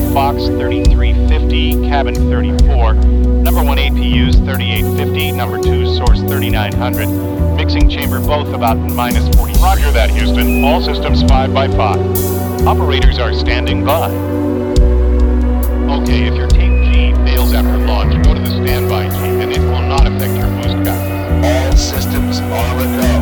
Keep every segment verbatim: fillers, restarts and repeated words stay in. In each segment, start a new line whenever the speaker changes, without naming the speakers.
Fox thirty-three fifty, cabin thirty-four. Number one A P Us thirty-eight fifty, number two source thirty-nine hundred. Mixing chamber both about minus forty. Roger that, Houston. All systems five by five. Operators are standing by. Okay, if your Team G fails after launch, go to the standby G and it will not affect your boost guide.
All systems are a go.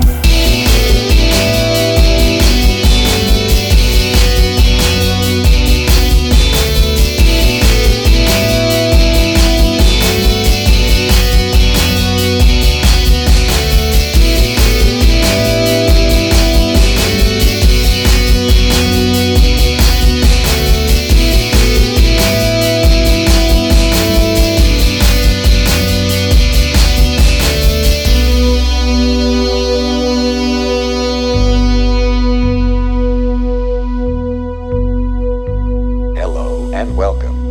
Hello and welcome.